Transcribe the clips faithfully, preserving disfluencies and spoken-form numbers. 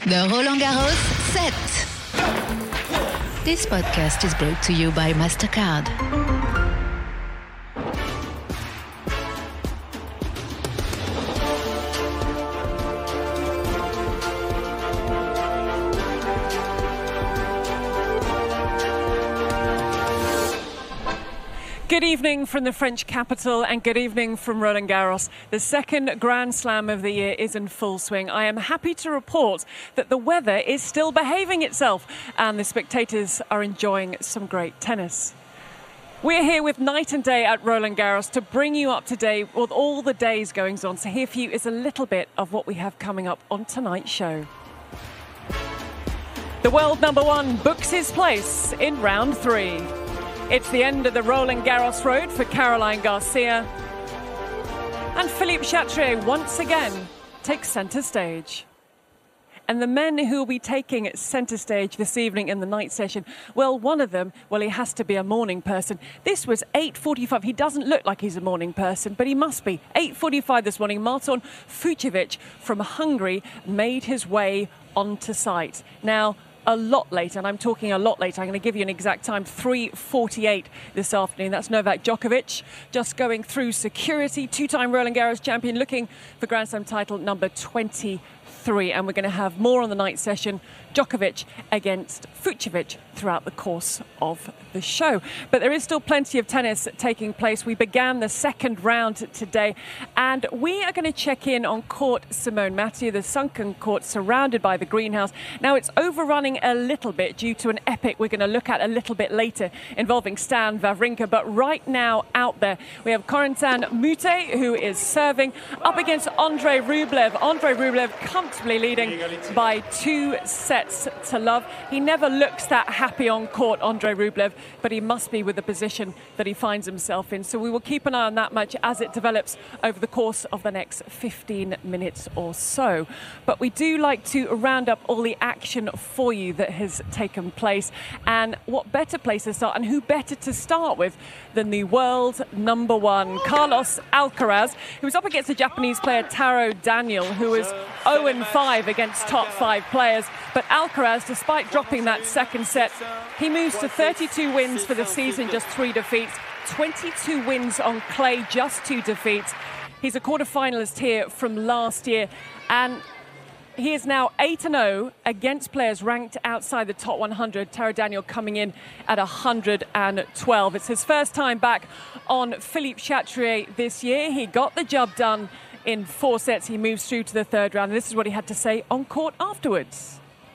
The Roland Garros set. This podcast is brought to you by Mastercard. Good evening from the French capital and good evening from Roland Garros. The second Grand Slam of the year is in full swing. I am happy to report that the weather is still behaving itself and the spectators are enjoying some great tennis. We're here with night and day at Roland Garros to bring you up to date with all the day's goings on. So here for you is a little bit of what we have coming up on tonight's show. The world number one books his place in round three. It's the end of the Roland Garros road for Caroline Garcia. And Philippe Chatrier once again takes centre stage. And the men who will be taking centre stage this evening in the night session, well, one of them, well, he has to be a morning person. This was eight forty-five. He doesn't look like he's a morning person, but he must be. eight forty-five this morning, Marton Fucsovics from Hungary made his way onto site. Now, a lot later, and I'm talking a lot later, I'm going to give you an exact time, three forty-eight this afternoon. That's Novak Djokovic just going through security, two-time Roland Garros champion, looking for Grand Slam title number twenty-three. And we're going to have more on the night session, Djokovic against Fucsovics throughout the course of the show. But there is still plenty of tennis taking place. We began the second round today, and we are going to check in on Court Simone Mathieu, the sunken court surrounded by the greenhouse. Now, it's overrunning a little bit due to an epic we're going to look at a little bit later involving Stan Wawrinka. But right now out there, we have Corentin Moutet, who is serving up against Andrei Rublev. Andrei Rublev comfortably leading by two sets to love. He never looks that happy on court, Andrei Rublev, but he must be with the position that he finds himself in. So we will keep an eye on that match as it develops over the course of the next fifteen minutes or so. But we do like to round up all the action for you that has taken place. And what better place to start, and who better to start with than the world number one, Carlos Alcaraz, who was up against the Japanese player Taro Daniel, who was oh and five against top five players. But Alcaraz, despite dropping that second set, he moves to thirty-two wins for the season, just three defeats, twenty-two wins on clay, just two defeats. He's a quarter-finalist here from last year, and he is now eight and oh against players ranked outside the top one hundred. Taro Daniel coming in at one hundred twelve. It's his first time back on Philippe Chatrier this year. He got the job done in four sets. He moves through to the third round. And this is what he had to say on court afterwards.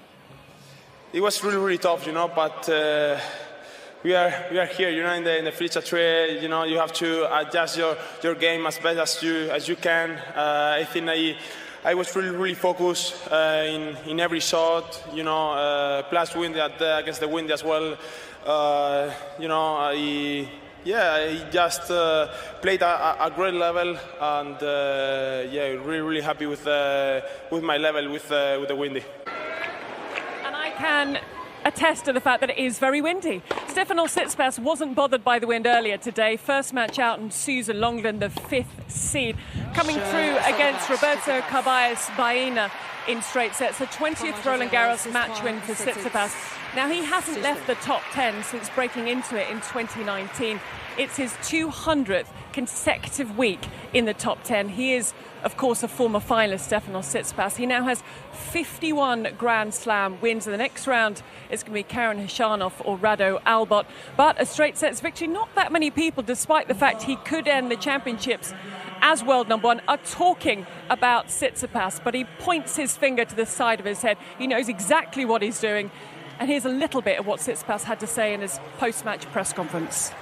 It was really, really tough, you know, but uh, we are we are here, you know, in the in the Philippe Chatrier. You know, you have to adjust your, your game as best as you as you can. Uh, I think I I was really, really focused uh, in in every shot, you know, uh, plus wind at, uh, against the wind as well. Uh, you know, I. Yeah, I just uh, played a, a great level, and uh, yeah, really, really happy with uh, with my level with uh, with the windy. And I can attest to the fact that it is very windy. Stefanos Tsitsipas wasn't bothered by the wind earlier today. First match out, and Susan Longland, the fifth seed, coming through against Roberto Carballes Baena in straight sets. A twentieth Roland Garros match win for Tsitsipas. Now, he hasn't left the top ten since breaking into it in twenty nineteen. It's his two hundredth consecutive week in the top ten. He is, of course, a former finalist, Stefanos Tsitsipas. He now has fifty-one Grand Slam wins. In the next round, it's going to be Karen Khachanov or Rado Albot. But a straight sets victory, not that many people, despite the fact he could end the championships as world number one, are talking about Tsitsipas. But he points his finger to the side of his head. He knows exactly what he's doing. And here's a little bit of what Tsitsipas had to say in his post-match press conference.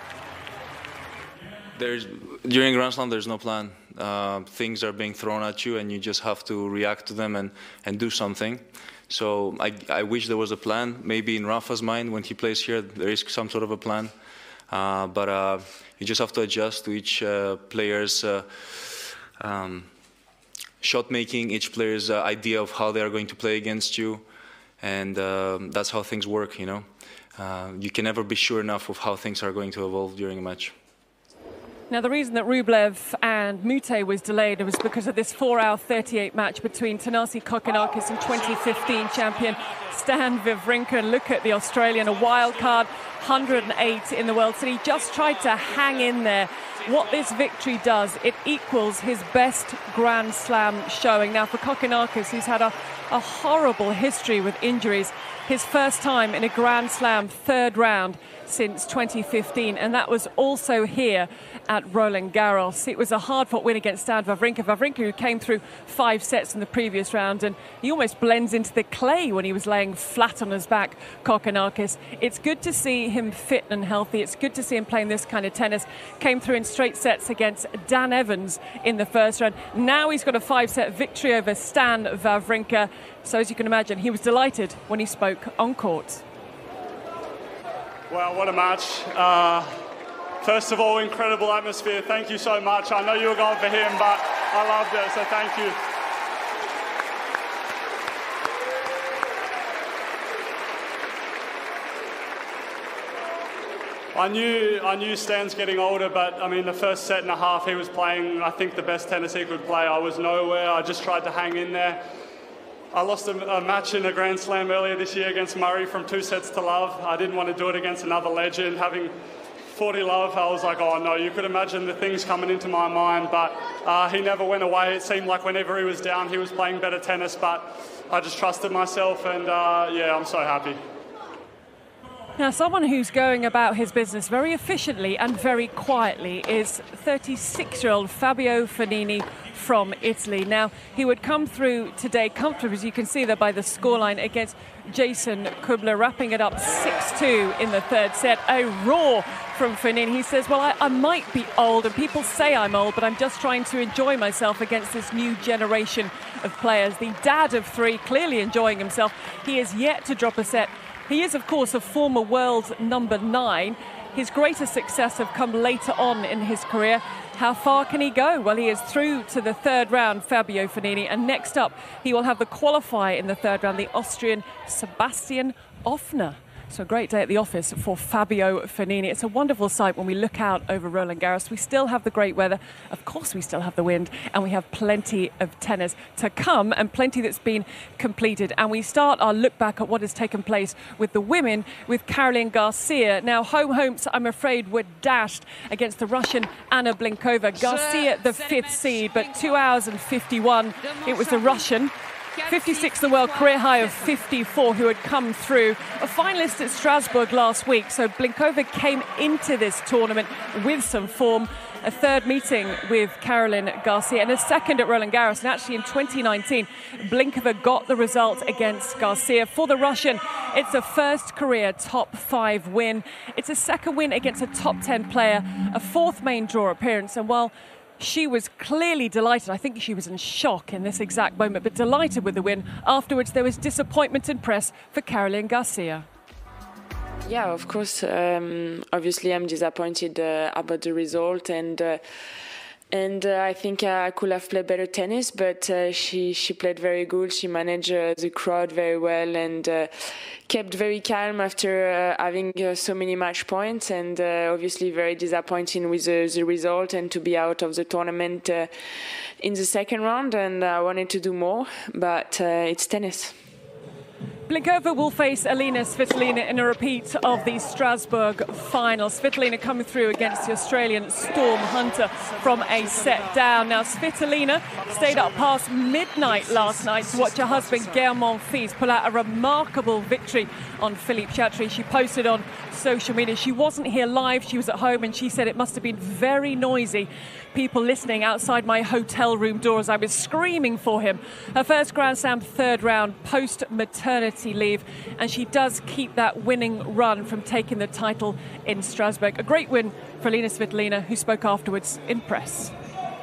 There's, during Grand Slam, there's no plan. Uh, things are being thrown at you, and you just have to react to them and, and do something. So I, I wish there was a plan. Maybe in Rafa's mind, when he plays here, there is some sort of a plan. Uh, but uh, you just have to adjust to each uh, player's uh, um, shot making, each player's uh, idea of how they are going to play against you. And uh, that's how things work, you know. Uh, you can never be sure enough of how things are going to evolve during a match. Now, the reason that Rublev and Mute was delayed. It was because of this four hour thirty-eight match between Thanasi Kokkinakis and twenty fifteen champion Stan Wawrinka. And look at the Australian, a wild card, one hundred eight in the world. So he just tried to hang in there. What this victory does, it equals his best Grand Slam showing. Now for Kokkinakis, who's had a, a horrible history with injuries, his first time in a Grand Slam third round since twenty fifteen, and that was also here at Roland Garros. It was a hard-fought win against Stan Wawrinka. Wawrinka, who came through five sets in the previous round, and he almost blends into the clay when he was laying flat on his back, Kokkinakis. It's good to see him fit and healthy. It's good to see him playing this kind of tennis. Came through in straight sets against Dan Evans in the first round. Now he's got a five-set victory over Stan Wawrinka. So as you can imagine, he was delighted when he spoke on court. Well, what a match. Uh, first of all, incredible atmosphere. Thank you so much. I know you were going for him, but I loved it, so thank you. I knew I knew Stan's getting older, but I mean, the first set and a half he was playing, I think, the best tennis he could play. I was nowhere. I just tried to hang in there. I lost a, a match in a Grand Slam earlier this year against Murray from two sets to love. I didn't want to do it against another legend. Having forty love, I was like, oh no, you could imagine the things coming into my mind, but uh, he never went away. It seemed like whenever he was down, he was playing better tennis, but I just trusted myself, and uh, yeah, I'm so happy. Now, someone who's going about his business very efficiently and very quietly is thirty-six-year-old Fabio Fognini from Italy. Now, he would come through today comfortably, as you can see there by the scoreline, against Jason Kubler, wrapping it up six two in the third set. A roar from Fognini. He says, well, I, I might be old, and people say I'm old, but I'm just trying to enjoy myself against this new generation of players. The dad of three, clearly enjoying himself. He is yet to drop a set. He is, of course, a former world number nine. His greatest success have come later on in his career. How far can he go? Well, he is through to the third round, Fabio Fognini. And next up, he will have the qualifier in the third round, the Austrian Sebastian Ofner. So a great day at the office for Fabio Fognini. It's a wonderful sight when we look out over Roland Garros. We still have the great weather. Of course, we still have the wind, and we have plenty of tennis to come and plenty that's been completed. And we start our look back at what has taken place with the women with Caroline Garcia. Now, home hopes, I'm afraid, were dashed against the Russian Anna Blinkova. Garcia, the fifth seed, but two hours and fifty-one. It was the Russian, fifty-six the world, career high of fifty-four, who had come through. A finalist at Strasbourg last week, so Blinkova came into this tournament with some form. A third meeting with Caroline Garcia and a second at Roland Garros. And actually in twenty nineteen, Blinkova got the result against Garcia. For the Russian, it's a first career top five win. It's a second win against a top ten player, a fourth main draw appearance. And while she was clearly delighted, I think she was in shock in this exact moment, but delighted with the win. Afterwards, there was disappointment in press for Caroline Garcia. Yeah, of course. Um, obviously, I'm disappointed uh, about the result, and uh, and uh, I think I could have played better tennis. But uh, she she played very good. She managed uh, the crowd very well, and uh, kept very calm after uh, having uh, so many match points. And uh, obviously, very disappointing with the, the result and to be out of the tournament uh, in the second round. And I wanted to do more, but uh, it's tennis. Blinkova will face Alina Svitolina in a repeat of the Strasbourg final. Svitolina coming through against the Australian Storm Hunter from a set down. Now, Svitolina stayed up past midnight last night to watch her husband, Gaël Monfils, pull out a remarkable victory on Philippe Chatrier. She posted on social media. She wasn't here live. She was at home, and she said it must have been very noisy. People listening outside my hotel room door as I was screaming for him. Her first Grand Slam third round post-maternity leave, and she does keep that winning run from taking the title in Strasbourg. A great win for Alina Svitolina, who spoke afterwards in press.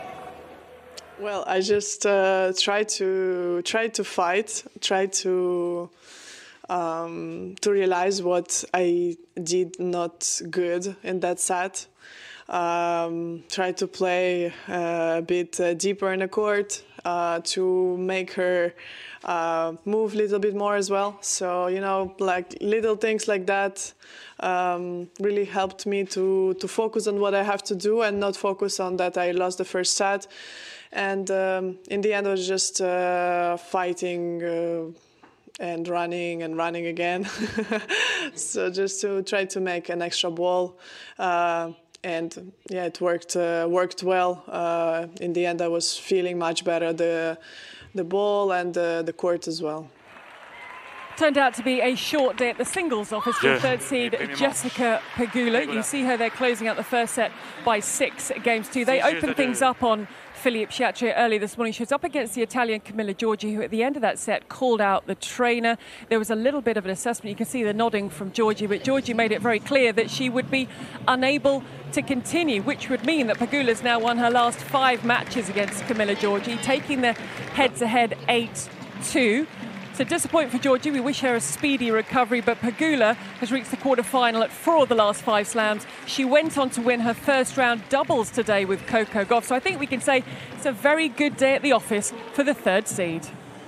Well, I just uh, tried to try to fight, try to um, to realize what I did not good in that set. Um, try to play uh, a bit uh, deeper in the court, uh, to make her uh, move a little bit more as well. So, you know, like little things like that um, really helped me to, to focus on what I have to do and not focus on that I lost the first set. And um, in the end, I was just uh, fighting uh, and running and running again. So just to try to make an extra ball. Uh, and yeah, it worked uh, worked well. Uh, in the end, I was feeling much better, the, the ball and the, the court as well. Turned out to be a short day at the singles office for yeah. third seed Jessica Pegula. You see her there closing out the first set by six games two. They opened things up on Philippe Chatrier early this morning. She was up against the Italian Camilla Giorgi, who at the end of that set called out the trainer. There was a little bit of an assessment. You can see the nodding from Giorgi, but Giorgi made it very clear that she would be unable to continue, which would mean that Pegula's now won her last five matches against Camilla Giorgi, taking the head-to-head eight two. So disappointing for Giorgi. We wish her a speedy recovery, but Pegula has reached the quarter-final at four of the last five slams. She went on to win her first round doubles today with Coco Gauff. So I think we can say it's a very good day at the office for the third seed.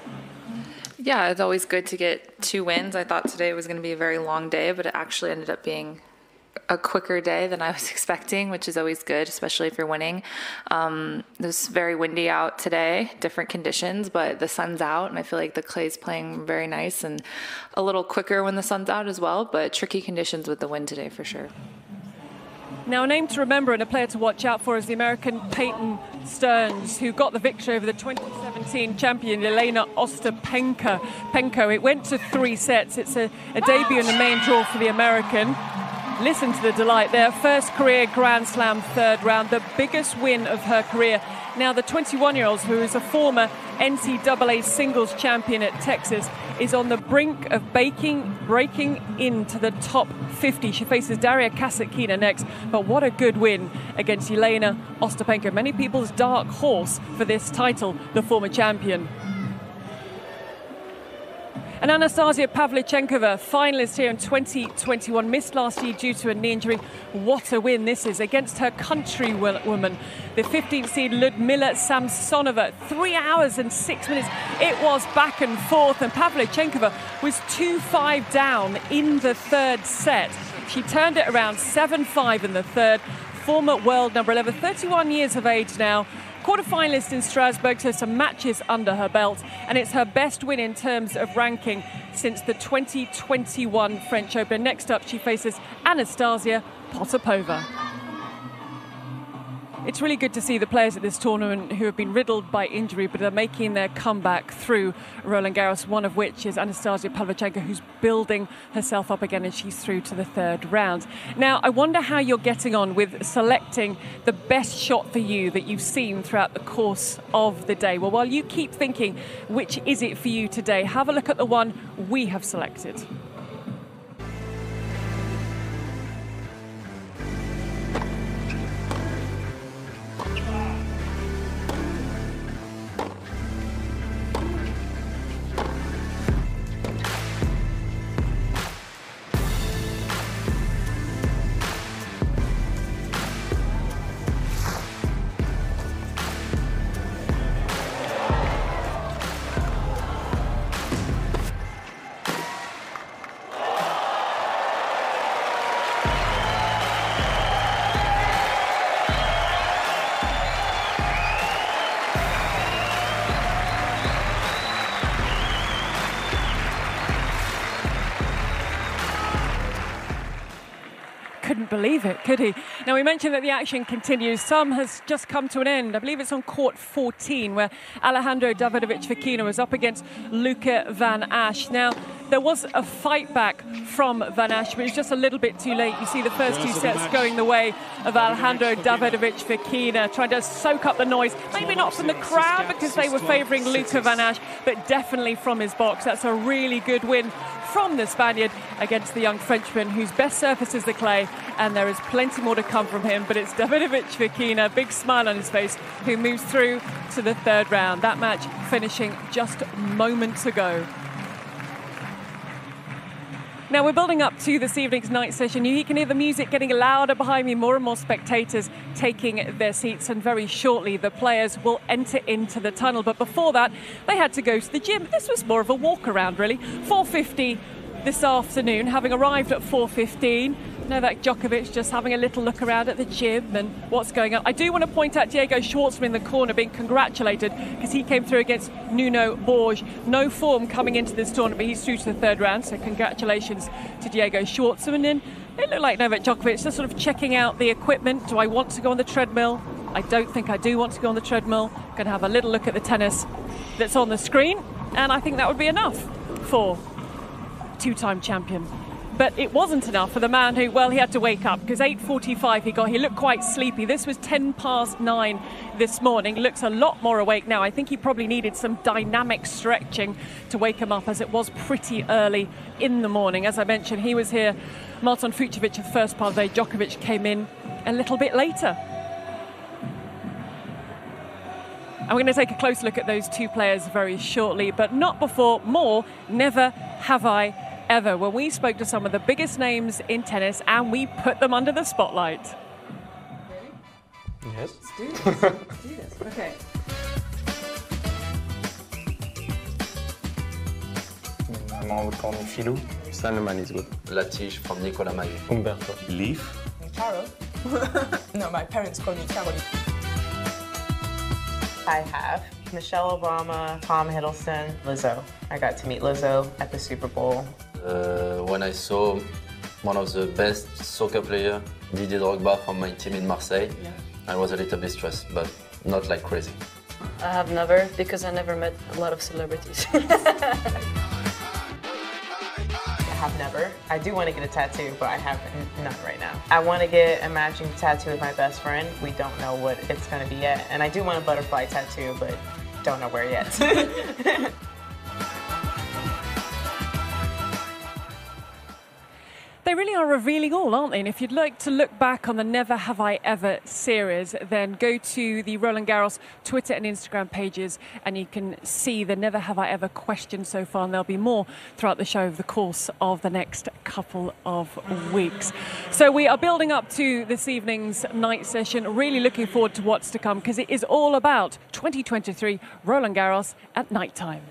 Yeah, it's always good to get two wins. I thought today was going to be a very long day, but it actually ended up being a quicker day than I was expecting, which is always good, especially if you're winning. Um, it was very windy out today, different conditions, but the sun's out, and I feel like the clay's playing very nice and a little quicker when the sun's out as well, but tricky conditions with the wind today for sure. Now, a name to remember and a player to watch out for is the American Peyton Stearns, who got the victory over the twenty seventeen champion Elena Ostapenko. Penko. It went to three sets. It's a, a debut in the main draw for the American. Listen to the delight there. First career Grand Slam third round, the biggest win of her career. Now the twenty-one-year-old, who is a former N C double A singles champion at Texas, is on the brink of baking, breaking into the top fifty. She faces Daria Kasatkina next, but what a good win against Elena Ostapenko. Many people's dark horse for this title, the former champion. And Anastasia Pavlyuchenkova, finalist here in twenty twenty-one, missed last year due to a knee injury. What a win this is against her countrywoman, the fifteenth seed Ludmila Samsonova. Three hours and six minutes. It was back and forth, and Pavlyuchenkova was two five down in the third set. She turned it around seven five in the third. Former world number eleven, thirty-one years of age now. Quarter-finalist in Strasbourg, so some matches under her belt, and it's her best win in terms of ranking since the twenty twenty-one French Open. Next up, she faces Anastasia Potapova. It's really good to see the players at this tournament who have been riddled by injury but are making their comeback through Roland Garros, one of which is Anastasia Pavlyuchenkova, who's building herself up again, and she's through to the third round. Now, I wonder how you're getting on with selecting the best shot for you that you've seen throughout the course of the day. Well, while you keep thinking, which is it for you today, have a look at the one we have selected. Couldn't believe it, could he? Now, we mentioned that the action continues. Some has just come to an end. I believe it's on court fourteen, where Alejandro Davidovich Fokina was up against Luca Van Assche. Now, there was a fight back from Van Assche, but it was just a little bit too late. You see the first two sets going the way of Alejandro Davidovich Fokina, trying to soak up the noise. Maybe not from the crowd because they were favouring Luca Van Assche, but definitely from his box. That's a really good win from the Spaniard against the young Frenchman, whose best surface is the clay, and there is plenty more to come from him. But it's Davidovich Fokina, big smile on his face, who moves through to the third round. That match finishing just moments ago. Now we're building up to this evening's night session. You can hear the music getting louder behind me, more and more spectators taking their seats, and very shortly the players will enter into the tunnel. But before that, they had to go to the gym. This was more of a walk around, really. four fifty this afternoon, having arrived at four fifteen. Novak Djokovic just having a little look around at the gym and what's going on. I do want to point out Diego Schwartzman in the corner being congratulated because he came through against Nuno Borges. No form coming into this tournament, but he's through to the third round, so congratulations to Diego Schwartzman. And it looked like Novak Djokovic just sort of checking out the equipment. Do I want to go on the treadmill? I don't think I do want to go on the treadmill. I'm going to have a little look at the tennis that's on the screen, and I think that would be enough for two-time champion. But it wasn't enough for the man who, well, he had to wake up because eight forty-five he got. He looked quite sleepy. This was ten past nine this morning. Looks a lot more awake now. I think he probably needed some dynamic stretching to wake him up, as it was pretty early in the morning. As I mentioned, he was here, Marton Fucsovics, the first part of the day. Djokovic came in a little bit later. I'm going to take a close look at those two players very shortly, but not before more Never Have I Ever, when we spoke to some of the biggest names in tennis and we put them under the spotlight. Ready? Yes. Let's do this. Let's do this. Okay. Maman would call me Filou. Salman is good. Latish from Nicolas Mahut. Umberto. Leaf. Caro. No, my parents call me Caroline. I have Michelle Obama, Tom Hiddleston, Lizzo. I got to meet Lizzo at the Super Bowl. Uh, when I saw one of the best soccer players, Didier Drogba from my team in Marseille, yeah. I was a little bit stressed, but not like crazy. I have never, because I never met a lot of celebrities. I have never. I do want to get a tattoo, but I have none right now. I want to get a matching tattoo with my best friend. We don't know what it's going to be yet. And I do want a butterfly tattoo, but don't know where yet. They really are revealing all, aren't they? And if you'd like to look back on the Never Have I Ever series, then go to the Roland Garros Twitter and Instagram pages and you can see the Never Have I Ever questions so far, and there'll be more throughout the show over the course of the next couple of weeks. So we are building up to this evening's night session, really looking forward to what's to come, because it is all about twenty twenty-three Roland Garros at night time.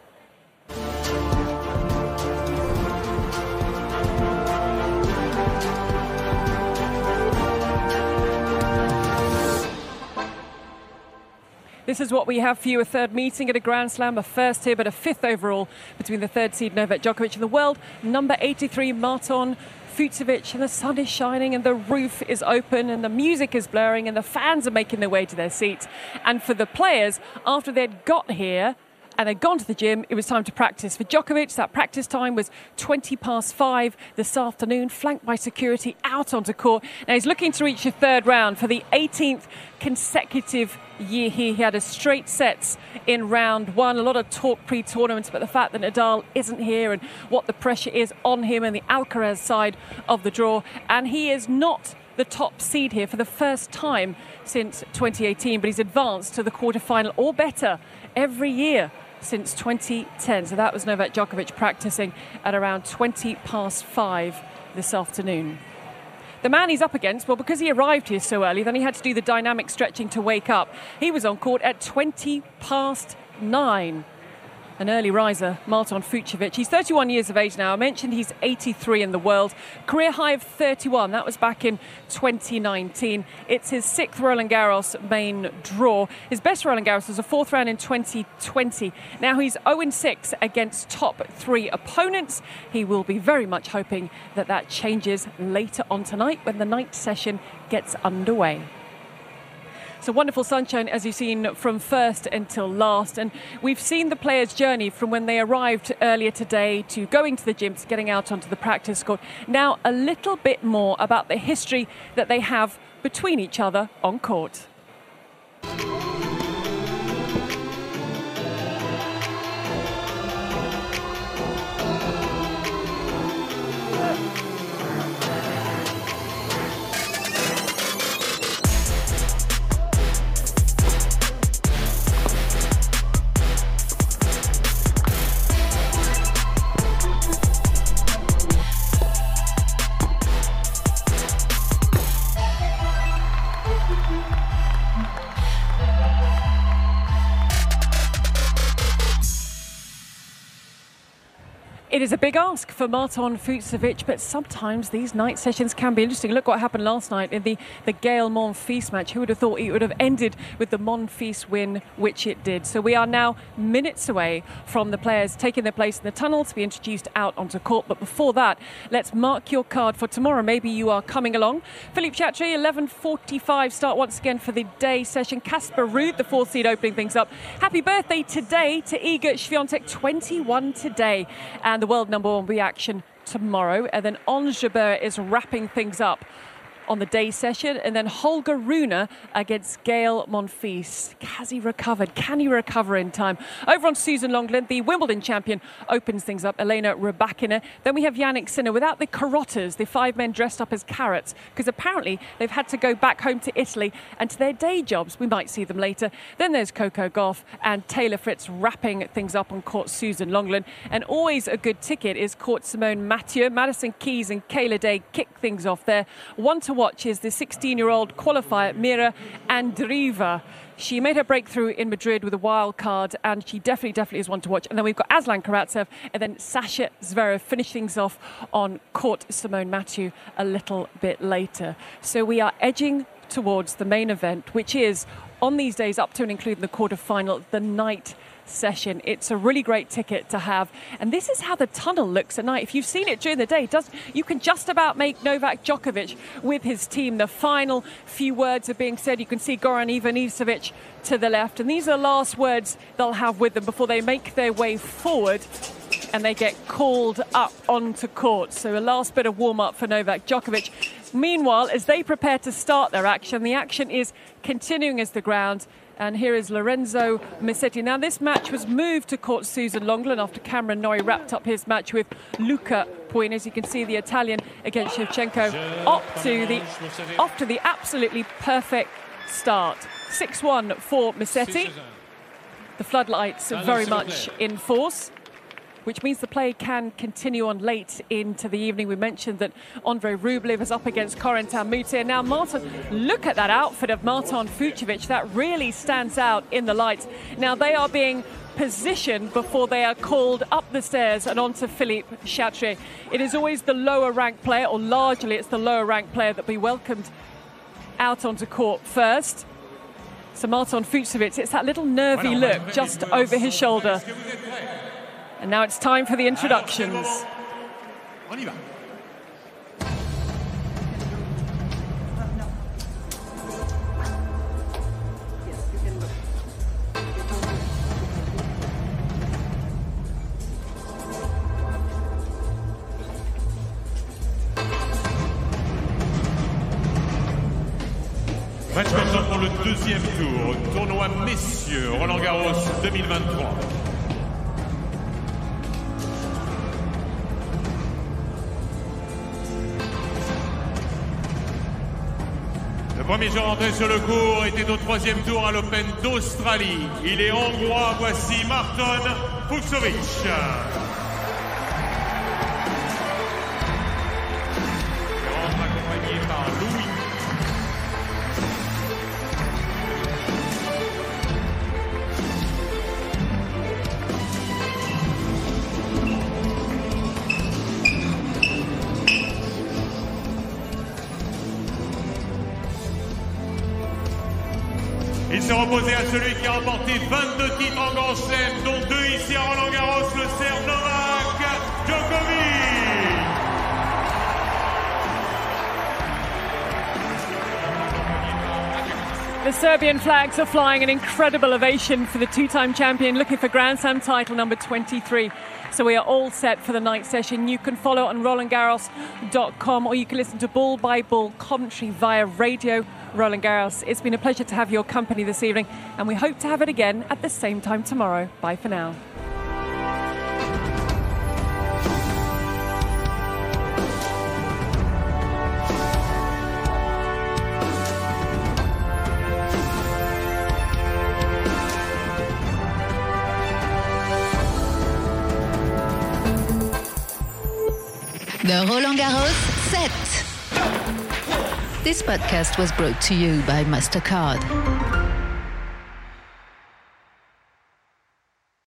This is what we have for you, a third meeting at a Grand Slam, a first here, but a fifth overall between the third seed Novak Djokovic and the world number eighty-three Marton Fucsovics. And the sun is shining and the roof is open and the music is blaring and the fans are making their way to their seats. And for the players, after they'd got here and they'd gone to the gym, it was time to practice. For Djokovic, that practice time was twenty past five this afternoon, flanked by security out onto court. Now he's looking to reach the third round for the eighteenth consecutive year here. He had a straight sets in round one. A lot of talk pre-tournament about the fact that Nadal isn't here and what the pressure is on him and the Alcaraz side of the draw. And he is not the top seed here for the first time since twenty eighteen, but he's advanced to the quarterfinal or better every year since twenty ten. So that was Novak Djokovic practicing at around twenty past five this afternoon. The man he's up against, well, because he arrived here so early, then he had to do the dynamic stretching to wake up. He was on court at twenty past nine. An early riser, Marton Fucsovics. He's thirty-one years of age now. I mentioned he's eighty-three in the world. Career high of thirty-one. That was back in twenty nineteen. It's his sixth Roland Garros main draw. His best Roland Garros was a fourth round in twenty twenty. Now he's oh and six against top three opponents. He will be very much hoping that that changes later on tonight when the night session gets underway. So wonderful sunshine, as you've seen, from first until last. And we've seen the players' journey from when they arrived earlier today to going to the gym to getting out onto the practice court. Now, a little bit more about the history that they have between each other on court. It is a big ask for Marton Fucsovics, but sometimes these night sessions can be interesting. Look what happened last night in the, the Gael Monfils match. Who would have thought it would have ended with the Monfils win, which it did. So we are now minutes away from the players taking their place in the tunnel to be introduced out onto court. But before that, let's mark your card for tomorrow. Maybe you are coming along. Philippe Chatrier, eleven forty-five start once again for the day session. Casper Ruud, the fourth seed, opening things up. Happy birthday today to Iga Świątek, twenty-one today. And the world number one reaction tomorrow. And then Ons Jabeur is wrapping things up on the day session. And then Holger Rune against Gael Monfils. Has he recovered? Can he recover in time? Over on Susan Longland, the Wimbledon champion, opens things up. Elena Rybakina. Then we have Jannik Sinner without the carrotas, the five men dressed up as carrots, because apparently they've had to go back home to Italy and to their day jobs. We might see them later. Then there's Coco Gauff and Taylor Fritz wrapping things up on court Susan Longland. And always a good ticket is court Simone Mathieu. Madison Keys and Kayla Day kick things off there. One to watch is the sixteen-year-old qualifier Mira Andreeva. She made her breakthrough in Madrid with a wild card, and she definitely, definitely is one to watch. And then we've got Aslan Karatsev and then Sasha Zverev finish things off on court Simone Mathieu a little bit later. So we are edging towards the main event, which is on these days up to and including the quarter-final, the night session. It's a really great ticket to have, and this is how the tunnel looks at night. If you've seen it during the day, it does you can just about make Novak Djokovic with his team. The final few words are being said. You can see Goran Ivanisevic to the left, and these are the last words they'll have with them before they make their way forward and they get called up onto court. So a last bit of warm-up for Novak Djokovic. Meanwhile, as they prepare to start their action, the action is continuing as the ground. And here is Lorenzo Musetti. Now, this match was moved to court Susan Longland after Cameron Norrie wrapped up his match with Luca Pouin. As you can see, the Italian against Shevchenko up to the, off to the absolutely perfect start. six one for Musetti. The floodlights are very much in force, which means the play can continue on late into the evening. We mentioned that Andrei Rublev is up against Corentin Moutet. Now, Marton, look at that outfit of Marton Fucsovics. That really stands out in the lights. Now, they are being positioned before they are called up the stairs and onto Philippe Chatrier. It is always the lower-ranked player, or largely it's the lower-ranked player that we welcomed out onto court first. So Marton Fucsovics, it's that little nervy look just over his shoulder. And now it's time for the introductions. Match maintenant pour le deuxième tour, tournoi messieurs, Roland Garros deux mille vingt-trois. Le premier jour entré sur le court était au troisième tour à l'Open d'Australie. Il est hongrois, voici Marton Fucsovics. Il rentre accompagné par Louis. Il s'est reposé à celui qui a remporté vingt-deux titres en Grand Chelem, dont deux ici à Roland Garros, le Serbe Novak Djokovic. The Serbian flags are flying, an incredible ovation for the two-time champion looking for Grand Slam title number twenty-three. So we are all set for the night session. You can follow on Roland Garros dot com, or you can listen to Ball by Ball commentary via radio Roland Garros. It's been a pleasure to have your company this evening, and we hope to have it again at the same time tomorrow. Bye for now. The Roland Garros set. This podcast was brought to you by MasterCard.